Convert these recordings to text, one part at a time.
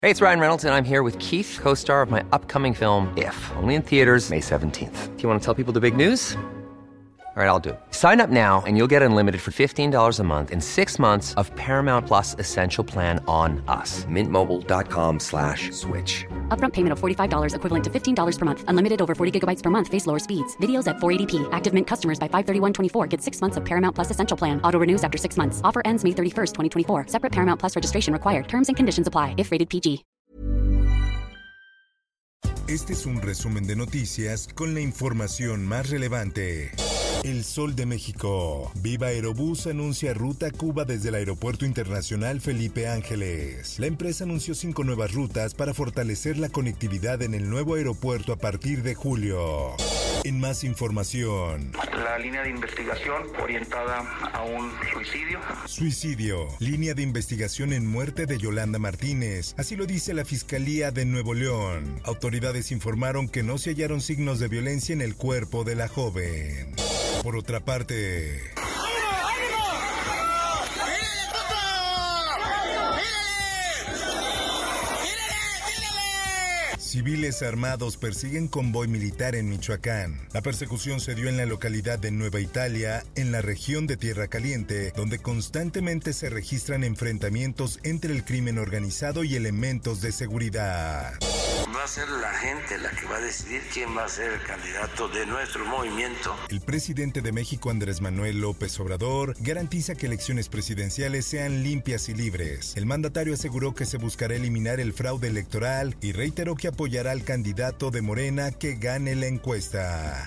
Hey, it's Ryan Reynolds, and I'm here with Keith, co-star of my upcoming film, If, only in theaters May 17th. Do you want to tell people the big news? All right, I'll do it. Sign up now and you'll get unlimited for $15 a month and 6 months of Paramount Plus Essential Plan on us. MintMobile.com/switch. Upfront payment of $45 equivalent to $15 per month. Unlimited over 40 gigabytes per month. Face lower speeds. Videos at 480p. Active Mint customers by 531.24 get 6 months of Paramount Plus Essential Plan. Auto renews after 6 months. Offer ends May 31st, 2024. Separate Paramount Plus registration required. Terms and conditions apply if rated PG. Este es un resumen de noticias con la información más relevante. El Sol de México. Viva Aerobús anuncia ruta a Cuba desde el Aeropuerto Internacional Felipe Ángeles. La empresa anunció 5 nuevas rutas para fortalecer la conectividad en el nuevo aeropuerto a partir de julio. En más información. La línea de investigación orientada a un suicidio. Suicidio. Línea de investigación en muerte de Yolanda Martínez. Así lo dice la Fiscalía de Nuevo León. Autoridades informaron que no se hallaron signos de violencia en el cuerpo de la joven. Por otra parte, civiles armados persiguen convoy militar en Michoacán. La persecución se dio en la localidad de Nueva Italia, en la región de Tierra Caliente, donde constantemente se registran enfrentamientos entre el crimen organizado y elementos de seguridad. Va a ser la gente la que va a decidir quién va a ser el candidato de nuestro movimiento. El presidente de México, Andrés Manuel López Obrador, garantiza que elecciones presidenciales sean limpias y libres. El mandatario aseguró que se buscará eliminar el fraude electoral y reiteró que apoyará al candidato de Morena que gane la encuesta.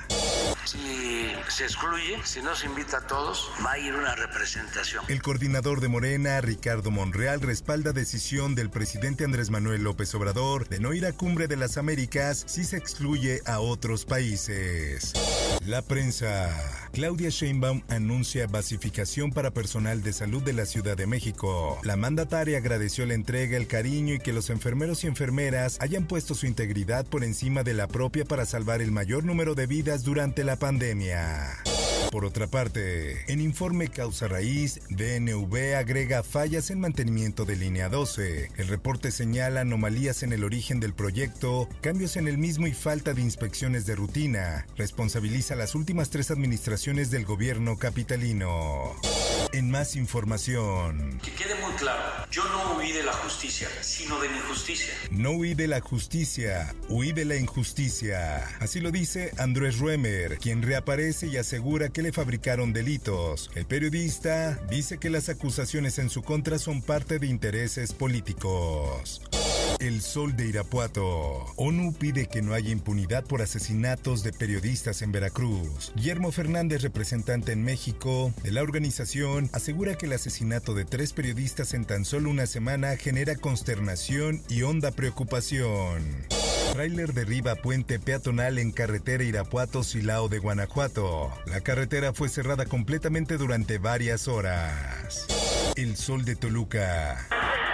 Si se excluye, si no se invita a todos, va a ir una representación. El coordinador de Morena, Ricardo Monreal, respalda decisión del presidente Andrés Manuel López Obrador de no ir a Cumbre de las Américas si se excluye a otros países. La prensa. Claudia Sheinbaum anuncia basificación para personal de salud de la Ciudad de México. La mandataria agradeció la entrega, el cariño y que los enfermeros y enfermeras hayan puesto su integridad por encima de la propia para salvar el mayor número de vidas durante la pandemia. Por otra parte, en informe Causa Raíz, DNV agrega fallas en mantenimiento de línea 12. El reporte señala anomalías en el origen del proyecto, cambios en el mismo y falta de inspecciones de rutina. Responsabiliza las últimas 3 administraciones del gobierno capitalino. En más información. Que quede muy claro, yo no huí de la justicia, sino de la injusticia. No huí de la justicia, huí de la injusticia. Así lo dice Andrés Ruemer, quien reaparece y asegura que le fabricaron delitos. El periodista dice que las acusaciones en su contra son parte de intereses políticos. El Sol de Irapuato. ONU pide que no haya impunidad por asesinatos de periodistas en Veracruz. Guillermo Fernández, representante en México de la organización, asegura que el asesinato de 3 periodistas en tan solo una semana genera consternación y honda preocupación. Tráiler derriba puente peatonal en carretera Irapuato-Silao de Guanajuato. La carretera fue cerrada completamente durante varias horas. El Sol de Toluca.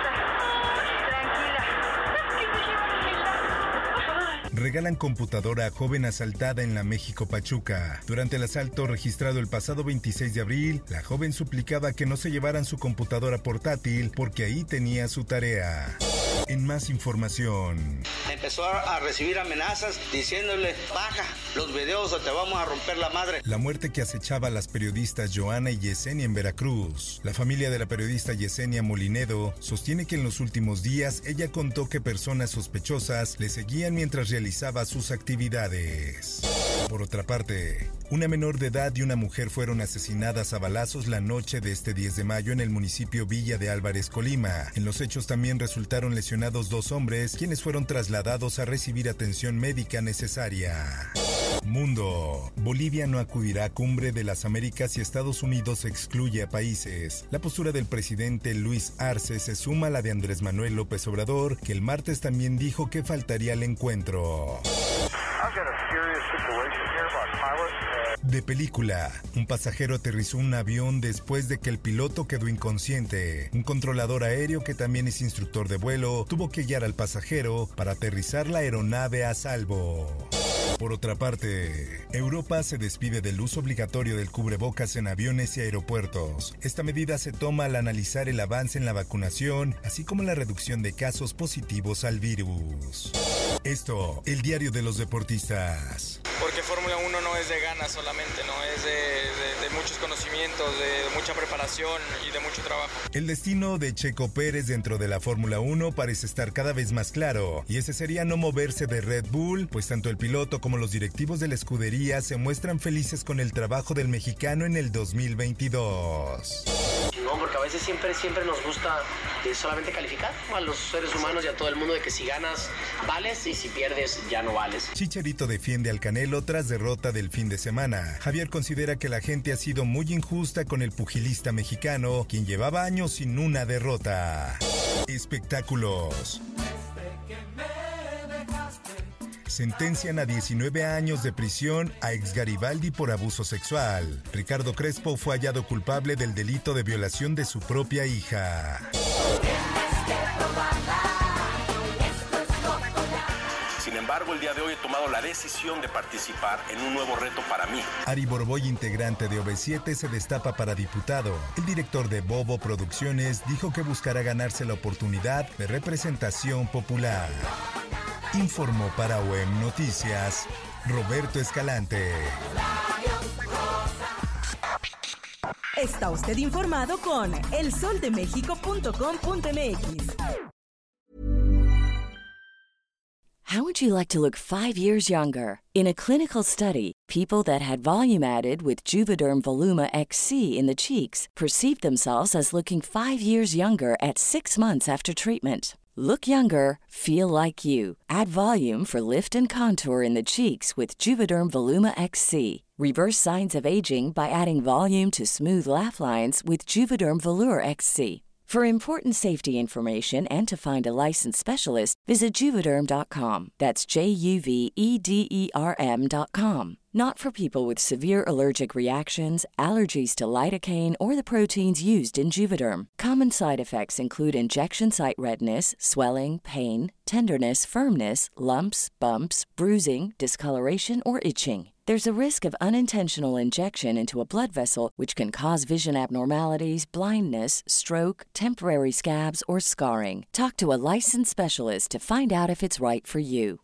Regalan computadora a joven asaltada en la México Pachuca. Durante el asalto registrado el pasado 26 de abril, la joven suplicaba que no se llevaran su computadora portátil porque ahí tenía su tarea. En más información. Empezó a recibir amenazas diciéndole, baja los videos o te vamos a romper la madre. La muerte que acechaba a las periodistas Joana y Yesenia en Veracruz. La familia de la periodista Yesenia Molinedo sostiene que en los últimos días ella contó que personas sospechosas le seguían mientras realizaba sus actividades. Por otra parte, una menor de edad y una mujer fueron asesinadas a balazos la noche de este 10 de mayo en el municipio Villa de Álvarez, Colima. En los hechos también resultaron lesionados 2 hombres, quienes fueron trasladados a recibir atención médica necesaria. Mundo. Bolivia no acudirá a Cumbre de las Américas y Estados Unidos excluye a países. La postura del presidente Luis Arce se suma a la de Andrés Manuel López Obrador, que el martes también dijo que faltaría al encuentro. De película, un pasajero aterrizó un avión después de que el piloto quedó inconsciente. Un controlador aéreo que también es instructor de vuelo tuvo que guiar al pasajero para aterrizar la aeronave a salvo. Por otra parte, Europa se despide del uso obligatorio del cubrebocas en aviones y aeropuertos. Esta medida se toma al analizar el avance en la vacunación, así como la reducción de casos positivos al virus. Esto, el diario de los deportistas. Porque Fórmula 1 no es de ganas solamente, no es de muchos conocimientos, de mucha preparación y de mucho trabajo. El destino de Checo Pérez dentro de la Fórmula 1 parece estar cada vez más claro, y ese sería no moverse de Red Bull, pues tanto el piloto como los directivos de la escudería se muestran felices con el trabajo del mexicano en el 2022. No, porque a veces siempre nos gusta solamente calificar a los seres humanos y a todo el mundo de que si ganas vales y si pierdes ya no vales. Chicharito defiende al Canelo tras derrota del fin de semana. Javier considera que la gente ha sido muy injusta con el pugilista mexicano, quien llevaba años sin una derrota. Espectáculos. Sentencian a 19 años de prisión a ex Garibaldi por abuso sexual. Ricardo Crespo fue hallado culpable del delito de violación de su propia hija. Sin embargo, el día de hoy he tomado la decisión de participar en un nuevo reto para mí. Ari Boroboy, integrante de OV7, se destapa para diputado. El director de Bobo Producciones dijo que buscará ganarse la oportunidad de representación popular. Informó para OEM Noticias, Roberto Escalante. Está usted informado con elsoldemexico.com.mx. How would you like to look 5 years younger? In a clinical study, people that had volume added with Juvederm Voluma XC in the cheeks perceived themselves as looking 5 years younger at 6 months after treatment. Look younger, feel like you. Add volume for lift and contour in the cheeks with Juvederm Voluma XC. Reverse signs of aging by adding volume to smooth laugh lines with Juvederm Volure XC. For important safety information and to find a licensed specialist, visit Juvederm.com. That's JUVEDERM.com. Not for people with severe allergic reactions, allergies to lidocaine, or the proteins used in Juvederm. Common side effects include injection site redness, swelling, pain, tenderness, firmness, lumps, bumps, bruising, discoloration, or itching. There's a risk of unintentional injection into a blood vessel, which can cause vision abnormalities, blindness, stroke, temporary scabs, or scarring. Talk to a licensed specialist to find out if it's right for you.